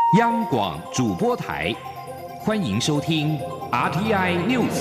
央广主播台，欢迎收听 RTI News。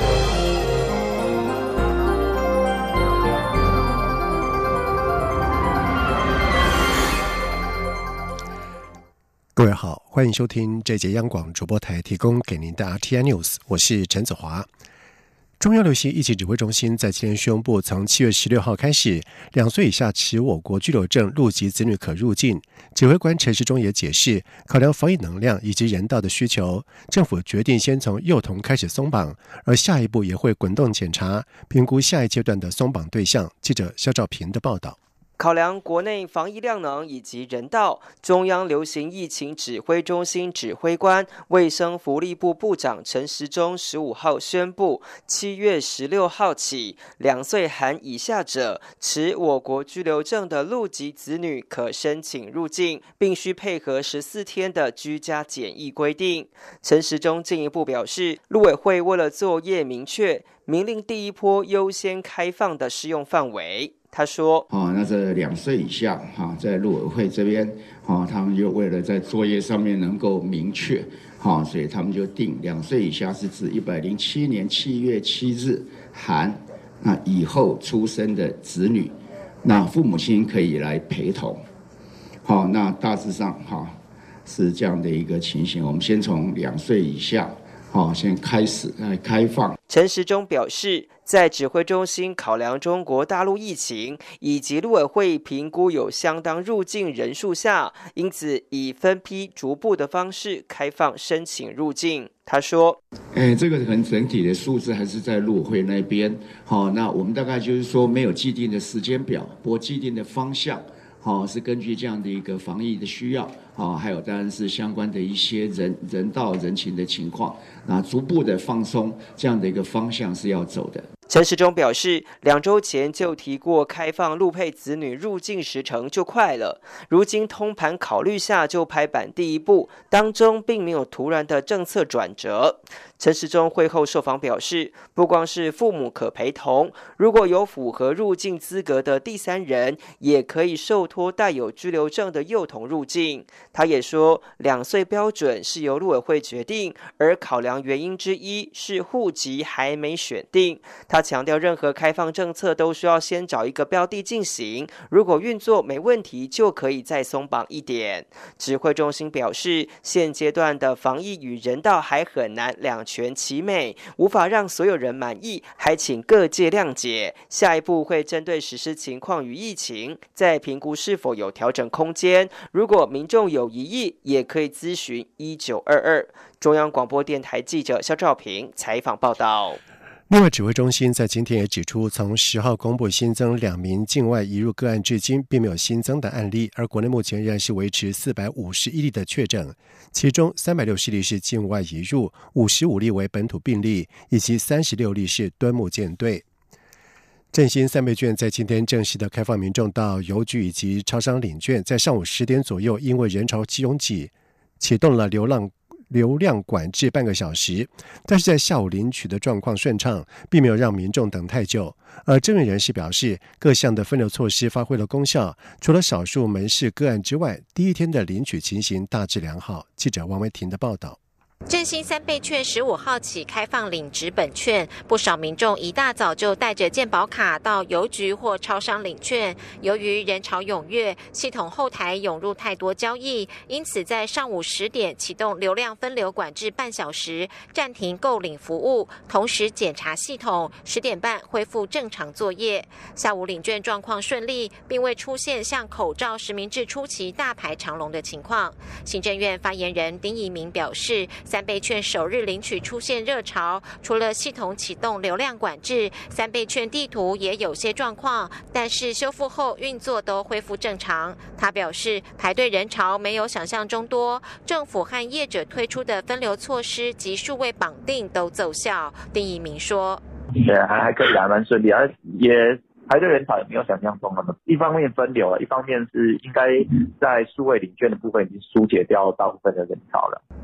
各位好，欢迎收听这节央广主播台提供给您的 RTI News， 我是陈子华。中央流行疫情指挥中心在今天宣布，从7月16号开始，2岁以下持我国居留证陆籍子女可入境。指挥官陈时中也解释，考量防疫能量以及人道的需求，政府决定先从幼童开始松绑，而下一步也会滚动检查，评估下一阶段的松绑对象。记者肖兆平的报道。 考量国内防疫量能以及人道，中央流行疫情指挥中心指挥官、卫生福利部部长陈时中15号宣布，7月16号起，2岁含以下者持我国居留证的陆籍子女可申请入境，并需配合14天的居家检疫规定。陈时中进一步表示，陆委会为了作业明确，明令第一波优先开放的适用范围。他说：“ 那这2岁以下，在陆委会这边，他们就为了在作业上面能够明确，所以他们就定2岁以下是指107年7月7日含那以后出生的子女，那父母亲可以来陪同。那大致上是这样的一个情形。我们先从2岁以下，先开始来开放。” 陈时中表示，在指挥中心考量中国大陆疫情以及陆委会评估有相当入境人数下，因此以分批逐步的方式开放申请入境。他说：“ 这个很整体的数字还是在陆委会那边。那我们大概就是说没有既定的时间表，不过既定的方向。是根据这样的一个防疫的需要，还有当然是相关的一些人道人情的情况，那逐步的放松这样的一个方向是要走的。” 陈时中表示，2周前就提过开放陆配子女入境时程就快了，如今通盘考虑下就拍板第一步，当中并没有突然的政策转折。陈时中会后受访表示，不光是父母可陪同，如果有符合入境资格的第三人，也可以受托带有居留证的幼童入境。他也说，2岁标准是由陆委会决定，而考量原因之一是户籍还没选定。他强调，任何开放政策都需要先找一个标的进行，如果运作没问题，就可以再松绑一点。指挥中心表示，现阶段的防疫与人道还很难两全其美，无法让所有人满意，还请各界谅解。下一步会针对实施情况与疫情，再评估是否有调整空间。如果民众有疑义，也可以咨询1922。中央广播电台记者肖兆平采访报道。 另外，指挥中心在今天也指出，从10号公布新增2名境外移入个案至今，并没有新增的案例，而国内目前仍然是维持451例的确诊，其中360例是境外移入，55例为本土病例，以及36例是端木舰队。振兴3倍券在今天正式的开放民众到邮局以及超商领券，在上午10点左右，因为人潮拥挤，启动了流量管制半个小时，但是在下午领取的状况顺畅，并没有让民众等太久。而政院人士表示，各项的分流措施发挥了功效，除了少数门市个案之外，第一天的领取情形大致良好。记者王维婷的报道。 振兴3倍券15号起开放领纸本券，不少民众一大早就带着健保卡到邮局或超商领券。由于人潮踊跃，系统后台涌入太多交易，因此在上午10点启动流量分流管制半小时，暂停购领服务，同时检查系统，10点半恢复正常作业。下午领券状况顺利，并未出现像口罩实名制初期大排长龙的情况。行政院发言人丁怡明表示，3倍券首日领取出现热潮，除了系统启动流量管制，3倍券地图也有些状况，但是修复后运作都恢复正常。他表示，排队人潮没有想象中多，政府和业者推出的分流措施及数位绑定都奏效。丁怡明说：“ 对，还可以，还蛮顺利，也排队人潮也没有想象中那么，一方面分流了，一方面是应该在数位领券的部分已经疏解掉大部分的人潮了。”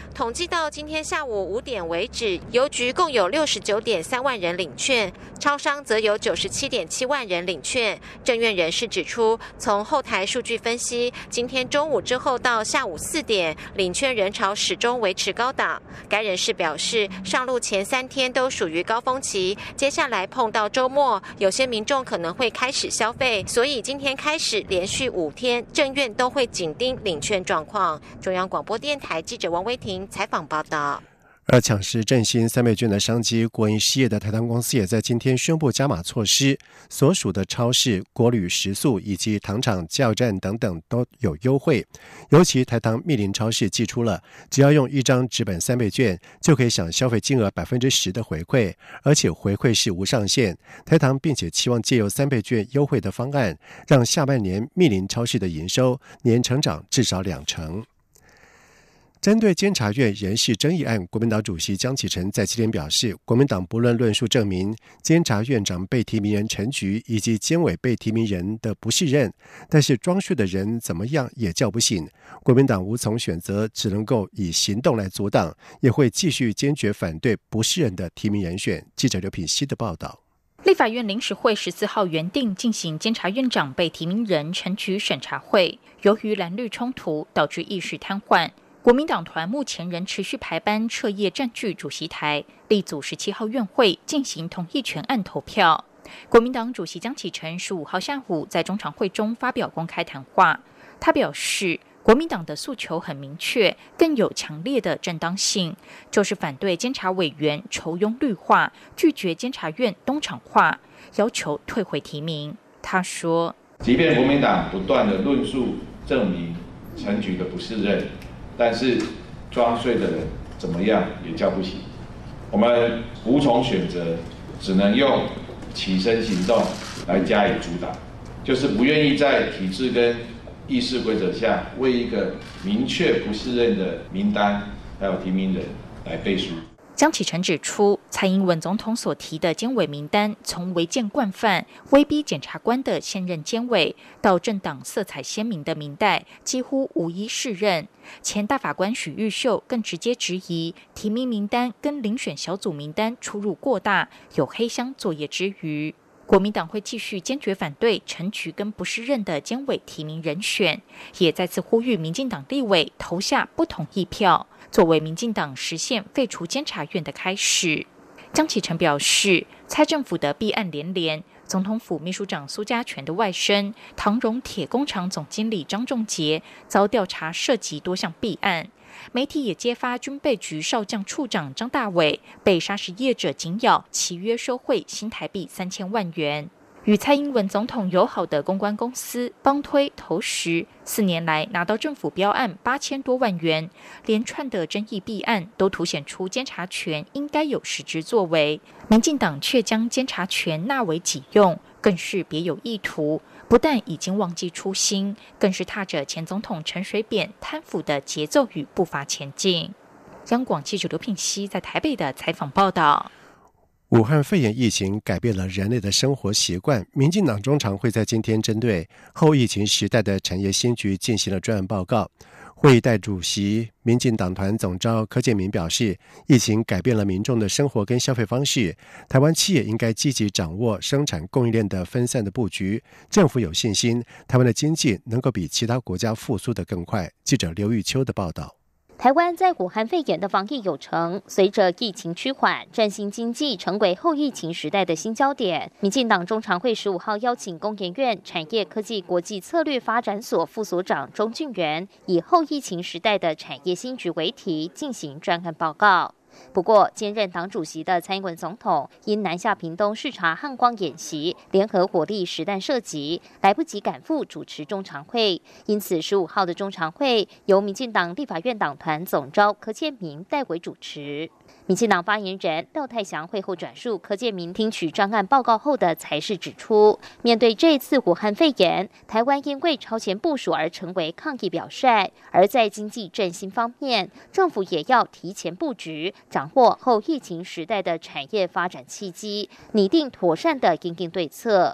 统计到今天下午5点为止，邮局共有69.3万人领券，超商则有97.7万人领券。政院人士指出，从后台数据分析，今天中午之后到下午4点，领券人潮始终维持高档。该人士表示，上路前3天都属于高峰期，接下来碰到周末，有些民众可能会开始消费，所以今天开始连续5天，政院都会紧盯领券状况。中央广播电台记者王威婷采访报道。 而抢食振兴3倍券的商机，国营事业的台糖公司也在今天宣布加码措施，所属的超市、国旅、食宿以及糖厂、加油站等等都有优惠。尤其台糖密林超市寄出了，只要用1张纸本3倍券，就可以享消费金额10%的回馈，而且回馈是无上限。台糖并且期望借由3倍券优惠的方案，让下半年密林超市的营收年成长至少2成。针对监察院人事争议案，国民党主席江启臣在7天表示，国民党不论论述证明监察院长被提名人陈菊以及监委被提名人的不适任，但是装睡的人怎么样也叫不醒。国民党无从选择，只能够以行动来阻挡，也会继续坚决反对不适任的提名人选。记者刘品希的报道。 立法院临时会14号原定进行监察院长被提名人陈菊审查会，由于蓝绿冲突导致议事瘫痪。国民党团目前仍持续排班彻夜占据主席台，力组17号院会进行同意权案投票。国民党主席江启臣15号下午在中常会中发表公开谈话，他表示，国民党的诉求很明确，更有强烈的正当性，就是反对监察委员酬庸绿化，拒绝监察院东厂化，要求退回提名。他说， 即便国民党不断的论述证明陈菊的不适任，但是装睡的人怎么样也叫不醒，我们无从选择，只能用起身行动来加以阻挡，就是不愿意在体制跟议事规则下为一个明确不适任的名单还有提名人来背书。 江启臣指出，蔡英文总统所提的监委名单，从违建惯犯、威逼检察官的现任监委，到政党色彩鲜明的民代，几乎无一适任。前大法官许玉秀更直接质疑，提名名单跟遴选小组名单出入过大，有黑箱作业之余。国民党会继续坚决反对陈菊跟不适任的监委提名人选，也再次呼吁民进党立委投下不同意票，作为民进党实现废除监察院的开始。江启臣表示，蔡政府的弊案连连，总统府秘书长苏家全的外甥唐荣铁工厂总经理张仲杰遭调查涉及多项弊案。媒体也揭发军备局少将处长张大伟被砂石业者紧咬，契约收贿新台币3000万元。与蔡英文总统友好的公关公司帮推投石，4年来拿到政府标案8000多万元，连串的争议弊案都凸显出监察权应该有实质作为，民进党却将监察权纳为己用，更是别有意图，不但已经忘记初心，更是踏着前总统陈水扁贪腐的节奏与步伐前进。央广记者刘品希在台北的采访报道。 武汉肺炎疫情改变了人类的生活习惯，民进党中常会在今天针对后疫情时代的产业新局进行了专案报告。会议代主席民进党团总召柯建铭表示，疫情改变了民众的生活跟消费方式，台湾企业应该积极掌握生产供应链的分散的布局，政府有信心台湾的经济能够比其他国家复苏得更快。记者刘玉秋的报道。 台湾在武汉肺炎的防疫有成，随着疫情趋缓，振兴经济成为后疫情时代的新焦点。民进党中常会15号邀请工研院产业科技国际策略发展所副所长钟俊元，以后疫情时代的产业新局为题进行专案报告。不过，兼任党主席的蔡英文总统因南下屏东视察汉光演习、联合火力实弹射击，来不及赶赴主持中常会，因此15号的中常会由民进党立法院党团总召柯建铭代为主持。民进党发言人廖泰祥会后转述柯建铭听取专案报告后的才是指出，面对这次武汉肺炎，台湾因为超前部署而成为抗疫表率，而在经济振兴方面，政府也要提前布局，掌握后疫情时代的产业发展契机，拟定妥善的因应对策。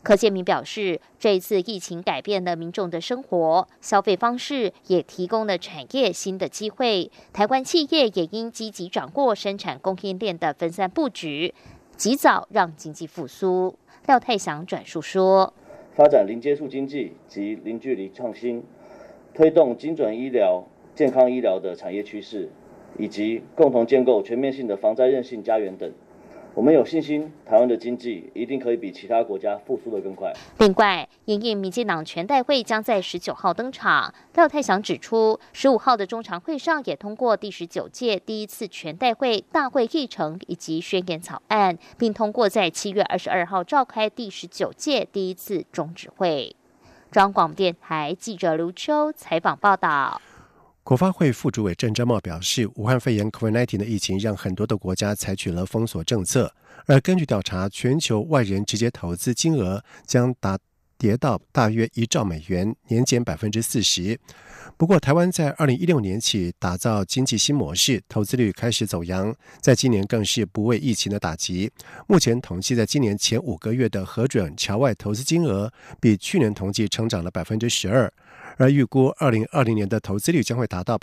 柯建铭表示，这一次疫情改变了民众的生活、消费方式，也提供了产业新的机会。台湾企业也应积极掌握生产供应链的分散布局，及早让经济复苏。廖泰祥转述说， 发展零接触经济及零距离创新，推动精准医疗、健康医疗的产业趋势，以及共同建构全面性的防灾韧性家园等。我们有信心，台湾的经济一定可以比其他国家复苏得更快。 另外，因应民进党全代会将在19号登场，廖泰祥指出，15号的中常会上也通过第19届第一次全代会大会议程以及宣言草案，并通过在7月22号召开第19届第一次中指会。中央广播电台记者卢秋采访报道。 国发会副主委郑珍茂表示，武汉肺炎 COVID-19 的疫情让很多的国家采取了封锁政策，而根据调查，全球外人直接投资金额将跌到大约1兆美元，年减40%。不过，台湾在2016年起打造经济新模式，投资率开始走扬，在今年更是不畏疫情的打击。目前统计在今年前5个月的核准侨外投资金额，比去年同期成长了12%。而预估2020年的投资率将会达到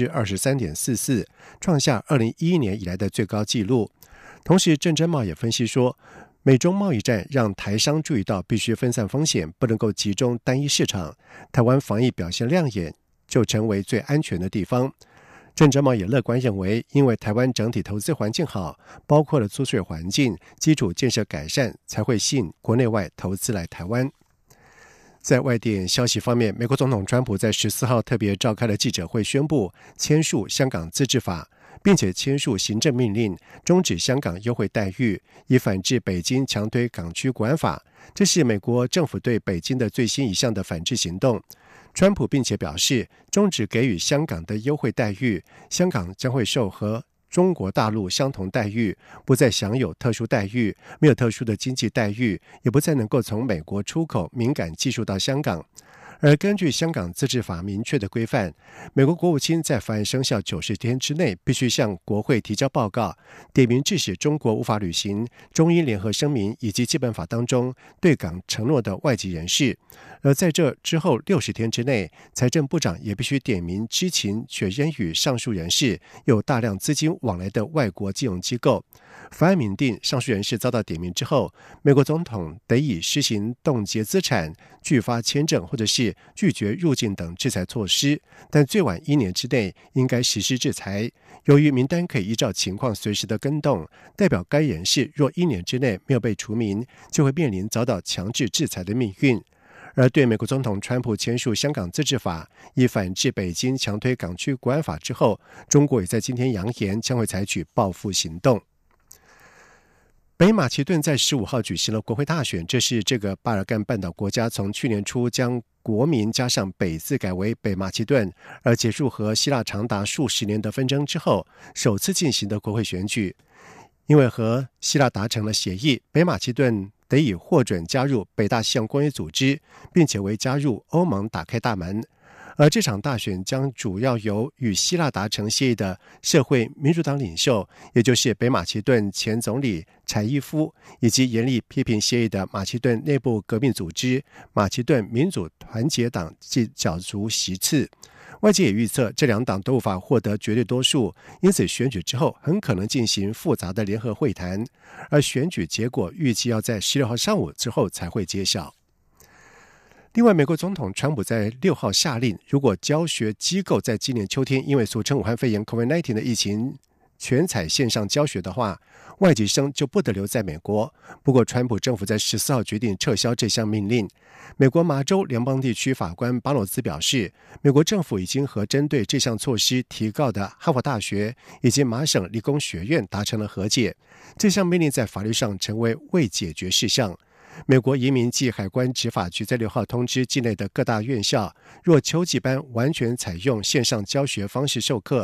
23.44%，创下2011年以来的最高纪录。同时，郑珍茂也分析说，美中贸易战让台商注意到必须分散风险，不能够集中单一市场。台湾防疫表现亮眼，就成为最安全的地方。郑珍茂也乐观认为，因为台湾整体投资环境好，包括了租税环境、基础建设改善，才会吸引国内外投资来台湾。在外电消息方面，美国总统川普在14号特别召开了记者会，宣布签署香港自治法，并且签署行政命令，终止香港优惠待遇，以反制北京强推港区国安法。这是美国政府对北京的最新一项的反制行动。川普并且表示，终止给予香港的优惠待遇，香港将会受和中国大陆相同待遇，不再享有特殊待遇，没有特殊的经济待遇，也不再能够从美国出口敏感技术到香港。而根据香港自治法明确的规范，美国国务卿在法案生效90天之内必须向国会提交报告，点名致使中国无法履行中英联合声明以及基本法当中对港承诺的外籍人士。而在这之后60天之内，财政部长也必须点名知情确认与上述人士有大量资金往来的外国金融机构。法案明定上述人士遭到点名之后，美国总统得以施行冻结资产、拒发签证或者是拒绝入境等制裁措施，但最晚1年之内应该实施制裁。由于名单可以依照情况随时的更动，代表该人士若1年之内没有被除名，就会面临遭到强制制裁的命运。而对美国总统川普签署香港自治法，以反制北京强推港区国安法之后，中国也在今天扬言将会采取报复行动。北马其顿在15号举行了国会大选，这是这个巴尔干半岛国家从去年初将国名加上北字改为北马其顿，而结束和希腊长达数十年的纷争之后，首次进行的国会选举。因为和希腊达成了协议，北马其顿得以获准加入北大西洋公约组织，并且为加入欧盟打开大门。而这场大选将主要由与希腊达成协议的社会民主党领袖，也就是北马其顿前总理柴伊夫，以及严厉批评协议的马其顿内部革命组织马其顿民主团结党角逐席次。外界也预测这两党都无法获得绝对多数，因此选举之后很可能进行复杂的联合会谈，而选举结果预计要在16号上午之后才会揭晓。另外，美国总统川普在6号下令，如果教学机构在今年秋天因为俗称武汉肺炎 COVID-19 的疫情全采线上教学的话，外籍生就不得留在美国。不过，川普政府在14号决定撤销这项命令。美国麻州联邦地区法官巴诺兹表示，美国政府已经和针对这项措施提告的哈佛大学以及麻省理工学院达成了和解，这项命令在法律上成为未解决事项。美国移民及海关执法局在6号通知境内的各大院校，若秋季班完全采用线上教学方式授课，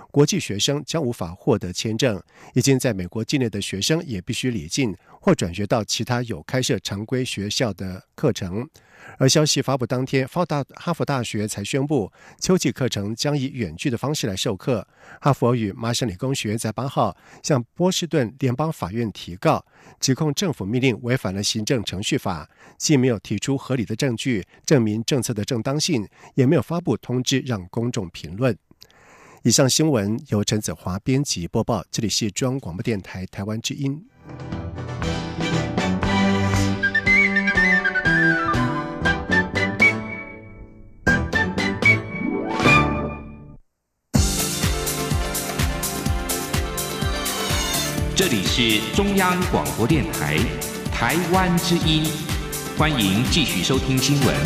国际学生将无法获得签证，已经在美国境内的学生也必须离境或转学到其他有开设常规学校的课程。而消息发布当天，哈佛大学才宣布秋季课程将以远距的方式来授课。哈佛与麻省理工学院在8号向波士顿联邦法院提告，指控政府命令违反了行政程序法，既没有提出合理的证据证明政策的正当性，也没有发布通知让公众评论。以上新闻由陈子华编辑播报，这里是中央广播电台台湾之音。 这里是中央广播电台台湾之音，欢迎继续收听新闻。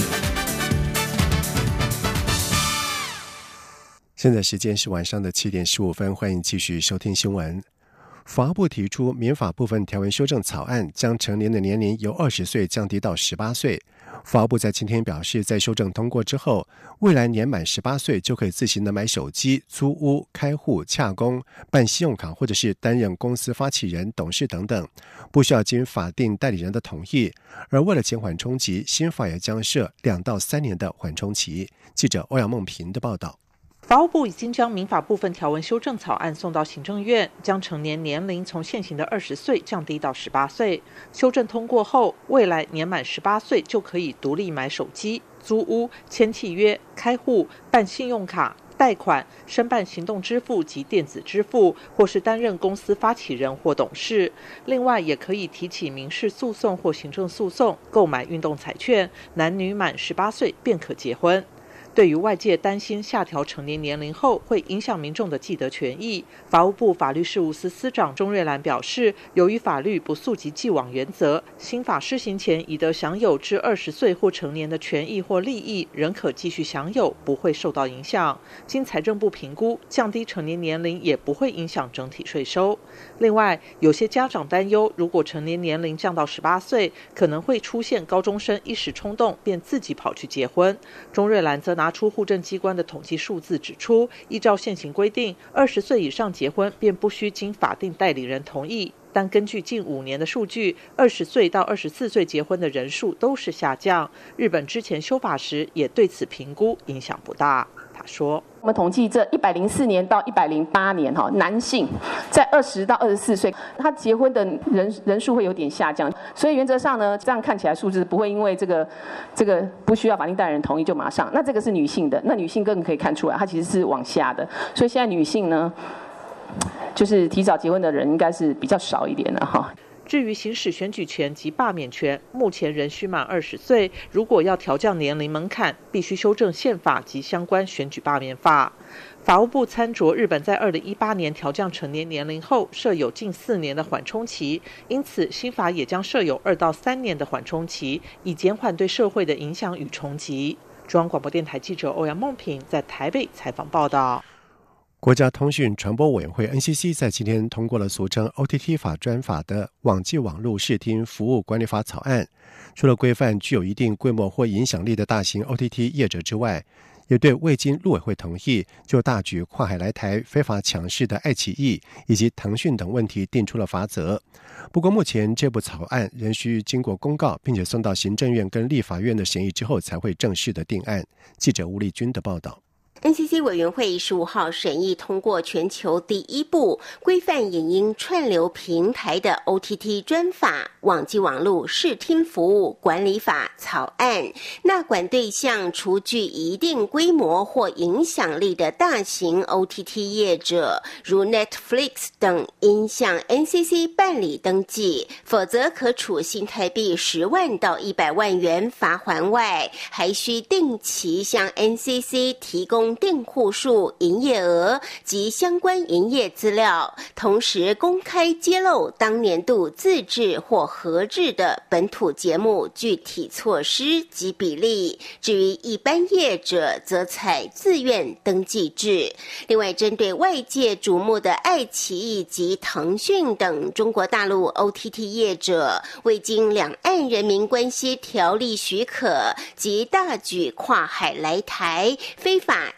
现在时间是晚上的7点15分，欢迎继续收听新闻。法务部提出民法部分条文修正草案，将成年的年龄由20岁降低到18岁。法务部在今天表示，在修正通过之后，未来年满18岁就可以自行的买手机、租屋、开户、洽公、办信用卡，或者是担任公司发起人、董事等等，不需要经法定代理人的同意。而为了减缓冲击，新法也将设2到3年的缓冲期。记者欧阳梦平的报道。 法务部已经将民法部分条文修正草案送到行政院，将成年年龄从现行的20岁降低到18岁。修正通过后，未来年满18岁就可以独立买手机、租屋、签契约、开户、办信用卡、贷款、申办行动支付及电子支付，或是担任公司发起人或董事。另外，也可以提起民事诉讼或行政诉讼，购买运动彩券。男女满18岁便可结婚。对于外界担心下调成年年龄后会影响民众的既得权益，法务部法律事务司司长钟瑞兰表示，由于法律不溯及既往原则，新法施行前已得享有至20岁或成年的权益或利益，仍可继续享有，不会受到影响。经财政部评估，降低成年年龄也不会影响整体税收。另外，有些家长担忧，如果成年年龄降到18岁，可能会出现高中生一时冲动便自己跑去结婚。钟瑞兰则拿出户政机关的统计数字指出，依照现行规定，20岁以上结婚便不需经法定代理人同意。但根据近5年的数据，20岁到24岁结婚的人数都是下降。日本之前修法时也对此评估影响不大。他说， 我们统计这104年到108年，男性在20到24岁，他结婚的人数会有点下降，所以原则上呢，这样看起来数字不会因为这个不需要法定代理人同意就马上。那这个是女性的，那女性更可以看出来，它其实是往下的。所以现在女性呢，就是提早结婚的人应该是比较少一点的哈。 至于行使选举权及罢免权，目前仍需满20岁。如果要调降年龄门槛，必须修正宪法及相关选举罢免法。法务部参酌日本在2018年调降成年年龄后，设有近4年的缓冲期，因此新法也将设有2到3年的缓冲期，以减缓对社会的影响与冲击。中央广播电台记者欧阳梦平在台北采访报道。 国家通讯传播委员会 NCC 在今天通过了俗称 OTT 法专法的网际网络视听服务管理法草案。除了规范具有一定规模或影响力的大型 OTT 业者之外，也对未经陆委会同意就大举跨海来台非法抢市的爱奇艺以及腾讯等问题定出了罚则。不过目前这部草案仍需经过公告，并且送到行政院跟立法院的审议之后才会正式的定案。记者吴丽君的报道。 NCC 委员会15号审议通过全球第一部规范影音串流平台的 OTT 专法网际网络视听服务管理法草案，纳管对象除具一定规模或影响力的大型 OTT 业者，如 Netflix 等，应向 NCC 办理登记，否则可处新台币10万到100万元罚锾外，还需定期向 NCC 提供订户数、营业额及相关营业资料，同时公开揭露当年度自制或合制的本土节目具体措施及比例。至于一般业者，则采自愿登记制。另外，针对外界瞩目的爱奇艺及腾讯等中国大陆 OTT 业者，未经两岸人民关系条例许可及大举跨海来台，非法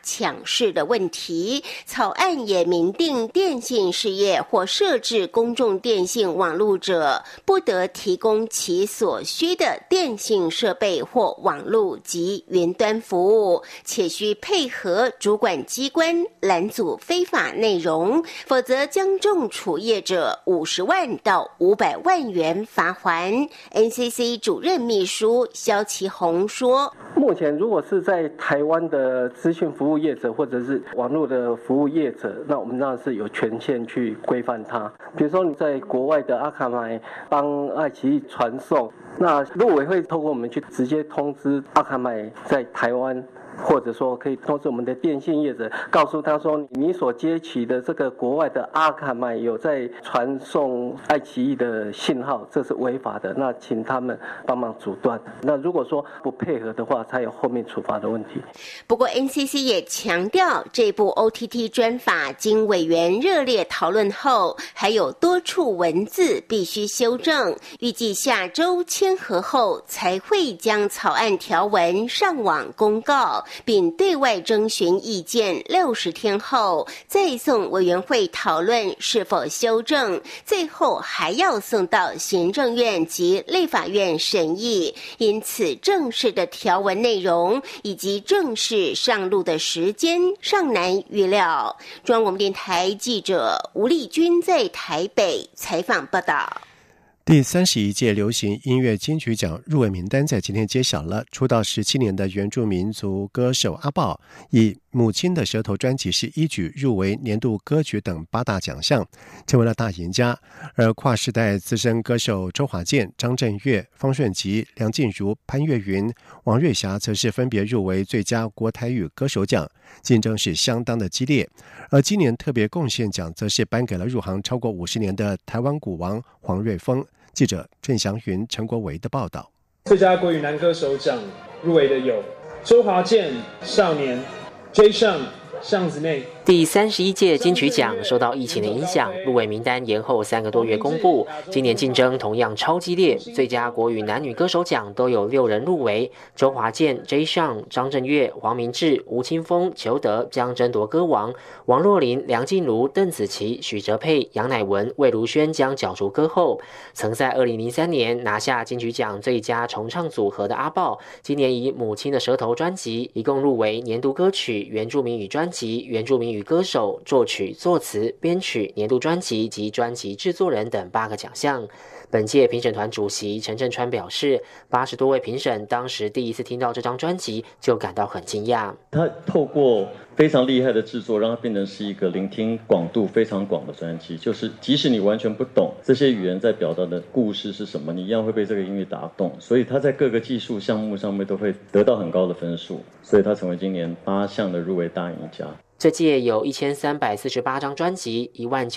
抢市的问题。草案也明定电信事业或设置公众电信网路者，不得提供其所需的电信设备或网路及云端服务，且需配合主管机关拦阻非法内容，否则将重处业者50万到500万元罚锾。 NCC 主任秘书萧其宏说， 目前如果是在台湾的资讯服务业者或者是网络的服务业者，那我们当然是有权限去规范它。比如说你在国外的阿卡买帮爱奇艺传送，那陆委会透过我们去直接通知阿卡买在台湾，或者说可以通知我们的电信业者，告诉他说你所接取的这个国外的阿卡买有在传送爱奇艺的信号，这是违法的，那请他们帮忙阻断。那如果说不配合的话，才有后面处罚的问题。 不过 NCC 也强调，这部 OTT 专法经委员热烈讨论后，还有多处文字必须修正，预计下周签核后才会将草案条文上网公告，并对外征询意见60天后，再送委员会讨论是否修正，最后还要送到行政院及立法院审议。因此，正式的条文内容以及正式上路的时间尚难预料。中央广播电台记者吴丽君在台北采访报道。 第31届流行音乐金曲奖入围名单在今天揭晓了。出道17年的原住民族歌手阿爆，以《母亲的舌头》专辑是一举入围年度歌曲等8大奖项，成为了大赢家。而跨世代资深歌手周华健、张震岳、方顺吉、梁静茹、潘越云、王瑞霞则是分别入围最佳国台语歌手奖，竞争是相当的激烈。而今年特别贡献奖则是颁给了入行超过50年的台湾鼓王黄瑞丰。记者郑祥云、陈国维的报道。 最佳国语男歌手奖入围的有周华健、少年、J. 上、巷子内。 第31届金曲奖受到疫情的影响，入围名单延后3个多月公布。今年竞争同样超激烈，最佳国语男女歌手奖都有6人入围，周华健、J. 上、张震岳、黄明志、吴青峰、裘德将争夺歌王，王若琳、梁静茹、邓紫棋、许哲佩、杨乃文、魏如萱将角逐歌后。曾在2003年拿下金曲奖最佳重唱组合的阿爆，今年以《母亲的舌头》专辑一共入围年度歌曲、原住民语专辑、原住民语歌手、作曲、作词、编曲、年度专辑及专辑制作人等8个奖项。本届评审团主席陈振川表示，80多位评审当时第一次听到这张专辑就感到很惊讶。 他透过非常厉害的制作，让它变成是一个聆听广度非常广的专辑，就是即使你完全不懂这些语言在表达的故事是什么，你一样会被这个音乐打动，所以他在各个技术项目上面都会得到很高的分数，所以他成为今年8项的入围大赢家。 这届有1348张专辑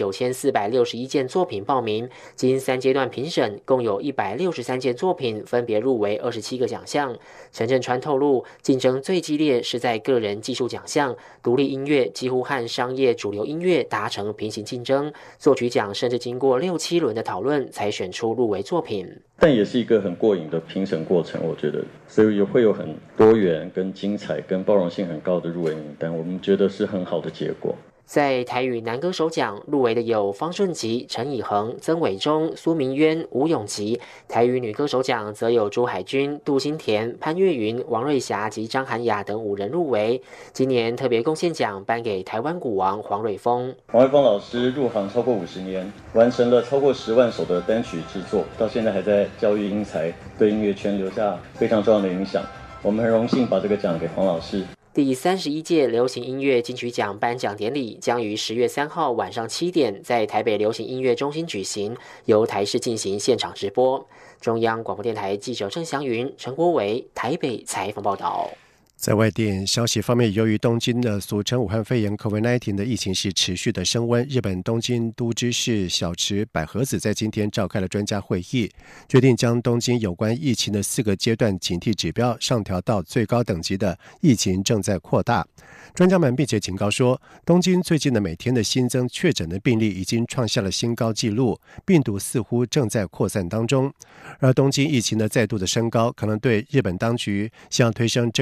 ，19461件作品报名，经3阶段评审，共有163件作品分别入围27个奖项。陈振川透露，竞争最激烈是在个人技术奖项，独立音乐几乎和商业主流音乐达成平行竞争，作曲奖甚至经过6、7轮的讨论才选出入围作品。 但也是一个很过瘾的评审过程，我觉得，所以也会有很多元、跟精彩、跟包容性很高的入围名单，我们觉得是很好的结果。 在台语男歌手奖入围的有方顺吉、陈以恒、曾伟忠、苏明渊、吴永吉；台语女歌手奖则有朱海军、杜新田、潘越云、王瑞霞及张涵雅等5人入围。今年特别贡献奖颁给台湾鼓王黄瑞丰。 黄瑞丰老师入行超过50年，完成了超过10万首的单曲制作，到现在还在教育英才，对音乐圈留下非常重要的影响。我们很荣幸把这个奖给黄老师。 第31届流行音乐金曲奖颁奖典礼将于10月3号晚上7点在台北流行音乐中心举行，由台视进行现场直播。中央广播电台记者郑祥云、陈国伟台北采访报道。 在外电消息方面，由于东京的俗称武汉肺炎 COVID-19 的疫情是持续的升温，日本东京都知事小池百合子在今天召开了专家会议，决定将东京有关疫情的4个阶段警惕指标上调到最高等级的疫情正在扩大。专家们并且警告说，东京最近的每天的新增确诊的病例已经创下了新高纪录，病毒似乎正在扩散当中。而东京疫情的再度的升高，可能对日本当局想要推升这个全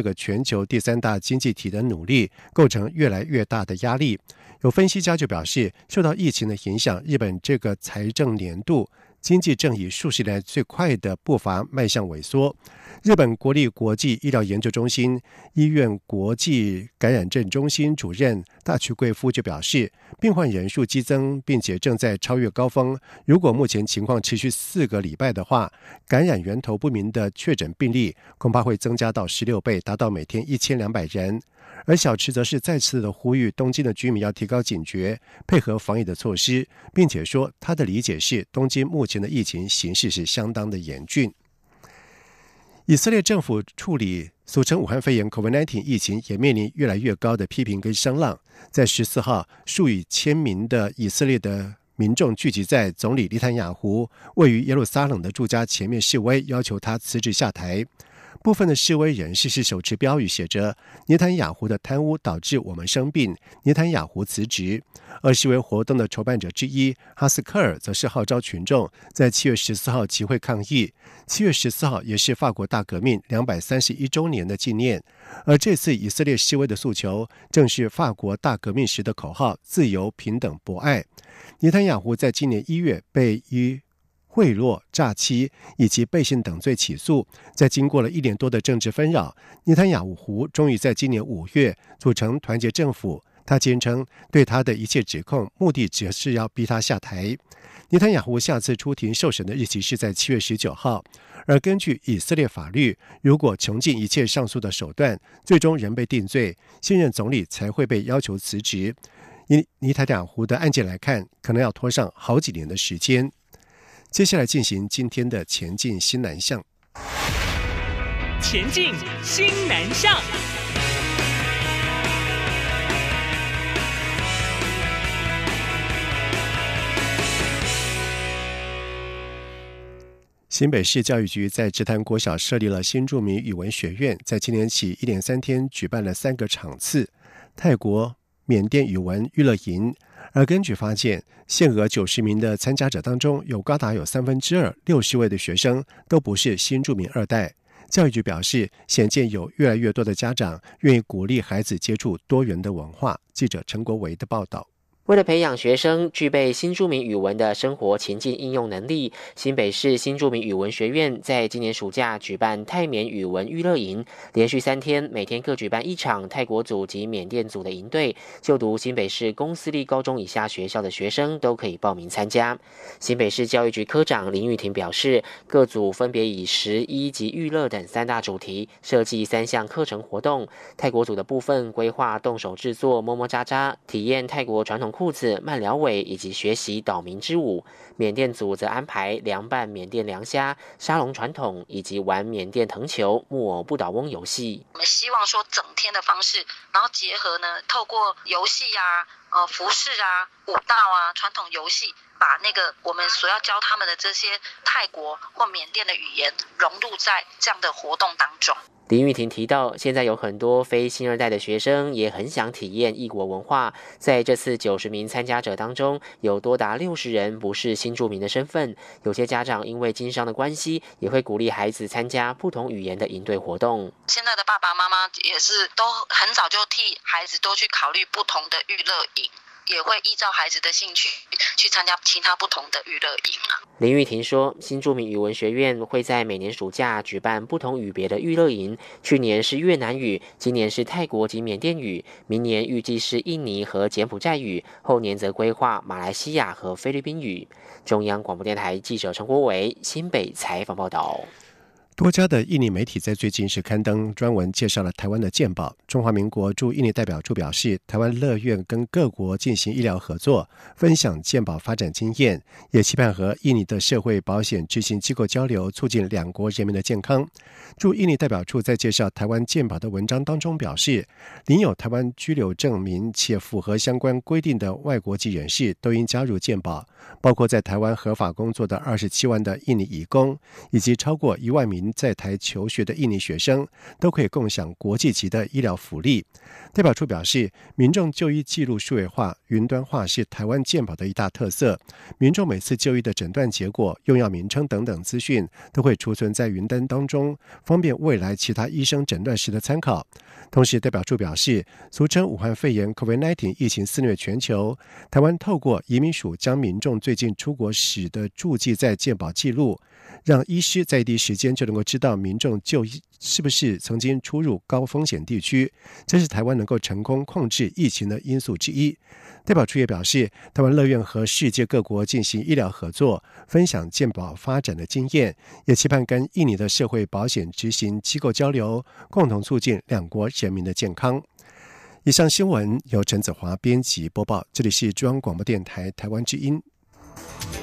球第3大经济体的努力构成越来越大的压力。有分析家就表示，受到疫情的影响，日本这个财政年度经济正以数十年来最快的步伐迈向萎缩。日本国立国际医疗研究中心医院国际感染症中心主任大渠贵夫就表示，病患人数激增，并且正在超越高峰。如果目前情况持续4个礼拜的话，感染源头不明的确诊病例恐怕会增加到16倍，达到每天1200人。而小池则是再次的呼吁东京的居民要提高警觉，配合防疫的措施，并且说他的理解是东京目前的疫情形势是相当的严峻。以色列政府处理俗称武汉肺炎 COVID-19 疫情也面临越来越高的批评跟声浪。在14号，数以千名的以色列的民众聚集在总理内塔尼亚胡位于耶路撒冷的住家前面示威，要求他辞职下台。部分的示威人士是手持标语写着内塔尼亚胡的贪污导致我们生病，内塔尼亚胡辞职。而示威活动的筹办者之一哈斯科尔则是号召群众在7月14号集会抗议。7月14号也是法国大革命231周年的纪念，而这次以色列示威的诉求正是法国大革命时的口号：自由、平等、博爱。内塔尼亚胡在今年1月被以贿赂、诈欺以及背信等罪起诉，在经过了1年多的政治纷扰，内塔尼亚胡终于在今年5月组成团结政府。他坚称对他的一切指控目的只是要逼他下台。内塔尼亚胡下次出庭受审的日期是在7月19号，而根据以色列法律，如果穷尽一切上诉的手段，最终仍被定罪，现任总理才会被要求辞职。以内塔尼亚胡的案件来看，可能要拖上好几年的时间。接下来进行今天的前进新南向。 前进新南向。 新北市教育局在直潭国小设立了新住民语文学院，在今年起1连3天举办了3个场次泰国、缅甸语文娱乐营。而根据发现，限额90名的参加者当中，有高达2/3 60位的学生都不是新住民2代。教育局表示，显见有越来越多的家长愿意鼓励孩子接触多元的文化。记者陈国维的报道。 为了培养学生具备新住民语文的生活情境应用能力，新北市新住民语文学院在今年暑假举办泰缅语文娱乐营，连续3天，每天各举办1场泰国组及缅甸组的营队。就读新北市公私立高中以下学校的学生都可以报名参加。新北市教育局科长林玉婷表示，各组分别以食、医及娱乐等3大主题设计3项课程活动。泰国组的部分规划动手制作么么喳喳，体验泰国传统裤子、慢聊尾以及学习岛民之舞。缅甸组则安排凉拌缅甸凉虾、沙龙传统以及玩缅甸藤球、木偶不倒翁游戏。 我们希望说整天的方式，然后结合呢，透过游戏啊、服饰啊、舞蹈啊、传统游戏，把那个我们所要教他们的这些泰国或缅甸的语言融入在这样的活动当中。 林玉婷提到，现在有很多非新2代的学生也很想体验异国文化。在这次90名参加者当中，有多达60人不是新住民的身份。有些家长因为经商的关系，也会鼓励孩子参加不同语言的营队活动。 现在的爸爸妈妈也是都很早就替孩子都去考虑不同的娱乐营，也会依照孩子的兴趣去参加其他不同的娱乐营啊。 林玉婷说，新住民语文学院会在每年暑假举办不同语别的娱乐营，去年是越南语，今年是泰国及缅甸语，明年预计是印尼和柬埔寨语，后年则规划马来西亚和菲律宾语。中央广播电台记者陈国维新北采访报道。 多家的印尼媒体在最近是刊登专文介绍了台湾的健保。中华民国驻印尼代表处表示，台湾乐愿跟各国进行医疗合作，分享健保发展经验，也期盼和印尼的社会保险执行机构交流，促进2国人民的健康。驻印尼代表处在介绍台湾健保的文章当中表示，领有台湾居留证明且符合相关规定的外国籍人士都应加入健保，包括在台湾合法工作的27万的印尼移工，以及超过1万名名在台求学的印尼学生都可以共享国际级的医疗福利。代表处表示，民众就医记录数位化、云端化是台湾健保的一大特色。民众每次就医的诊断结果、用药名称等等资讯都会储存在云端当中，方便未来其他医生诊断时的参考。同时，代表处表示，俗称武汉肺炎 COVID-19 疫情肆虐全球，台湾透过移民署将民众最近出国史的注记在健保记录，让医师在第一时间就能够知道民众就医是不是曾经出入高风险地区，这是台湾能够成功控制疫情的因素之一。代表处也表示，台湾乐愿和世界各国进行医疗合作，分享健保发展的经验，也期盼跟印尼的社会保险执行机构交流，共同促进两国人民的健康。以上新闻由陈子华编辑播报，这里是中央广播电台台湾之音。